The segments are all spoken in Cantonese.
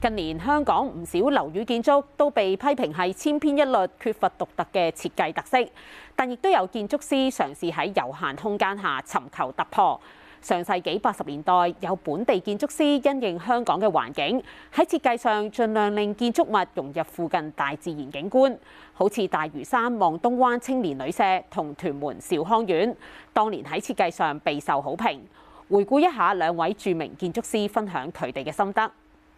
近年香港唔少樓宇建築都被批評係千篇一律，缺乏獨特嘅設計特色，但亦都有建築師嘗試喺有限空間下尋求突破。上世紀80年代，有本地建築師因應香港嘅環境，喺設計上盡量令建築物融入附近大自然景觀，好似大嶼山望東灣青年旅舍同屯門兆康苑，當年喺設計上備受好評。回顧一下兩位著名建築師分享佢哋嘅心得。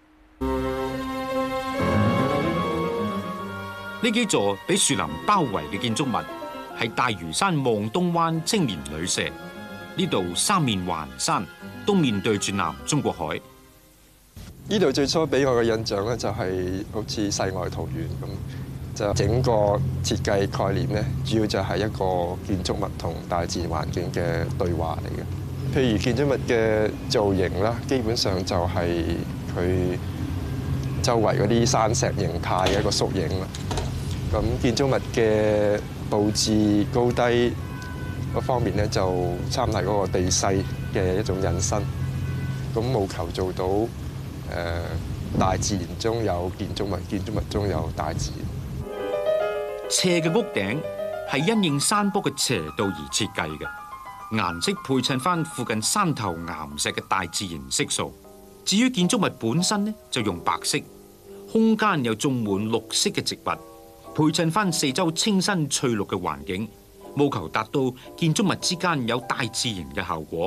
呢幾座俾樹林包圍嘅建築物係大嶼山望東灣青年旅舍。呢度三面環山，東面對住南中國海。 呢度最初俾我嘅印象咧，就係好似世外桃源咁。就整個設計概念咧，主要就係一個建築物同大自然環境嘅對話嚟嘅。譬如建築物嘅造型啦，基本上就係佢周圍嗰啲山石形態嘅一個縮影啦。咁建築物嘅佈置高低嗰方面咧，就參考嗰個地勢嘅一種引申，咁務求做到大自然中有建築物，建築物中有大自然。 斜嘅屋頂係因應山坡嘅斜度而設計嘅，顏色配襯翻附近山頭岩石嘅大自然色素。至於建築物本身咧，就用白色，空間又種滿綠色嘅植物，配襯翻四周清新翠綠嘅環境。務求達到建築物之間有大自然嘅效果。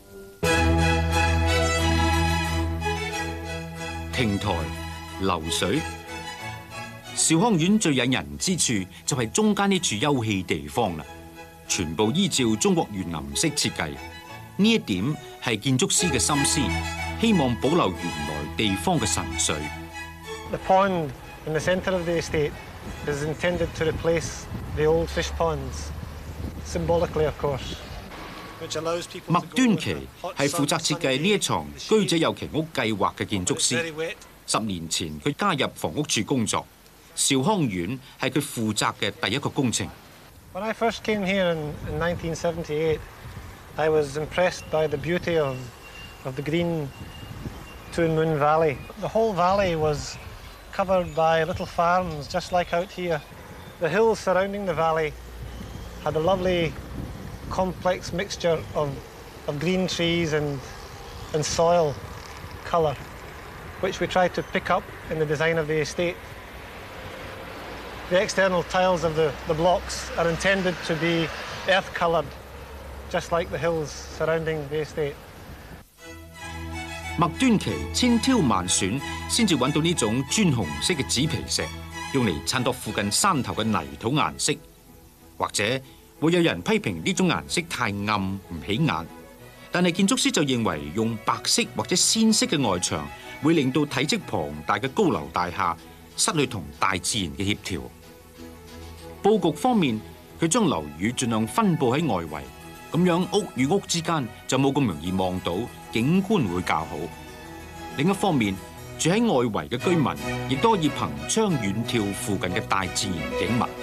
亭台流水，兆康苑最引人之處就係中間呢處休憩地方啦，全部依照中國園林式設計。呢一點係建築師嘅心思，希望保留原來地方嘅神髓。 The pond in the centre of the estate is intended to replace the old fish ponds. Symbolically, of course. 麥端奇係負責設計呢一幢居者有其屋計劃嘅建築師。10年前佢加入房屋署工作，兆康苑係佢負責嘅第一個工程。 When I first came here in 1978, I was impressed by the beauty of the green Twin Moon Valley. The whole valley was covered by little farms, just like out here. The hills surrounding the valley had a lovely complex mixture of green trees and soil colour, which we tried to pick up in the design of the estate. The external tiles of the blocks are intended to be earth-coloured, just like the hills surrounding the estate. 麥端奇千挑萬選，先至揾到呢種磚紅色嘅紙皮石，用嚟襯托附近山頭嘅泥土顏色。或者會有人批評呢種顏色太暗唔起眼，但係建築師就認為用白色或者鮮色嘅外牆會令到體積龐大嘅高樓大廈失去同大自然嘅協調。佈局方面，佢將樓宇盡量分佈喺外圍，咁樣屋與屋之間就冇咁容易望到，景觀會較好。另一方面，住喺外圍嘅居民亦都可以憑窗遠眺附近嘅大自然景物。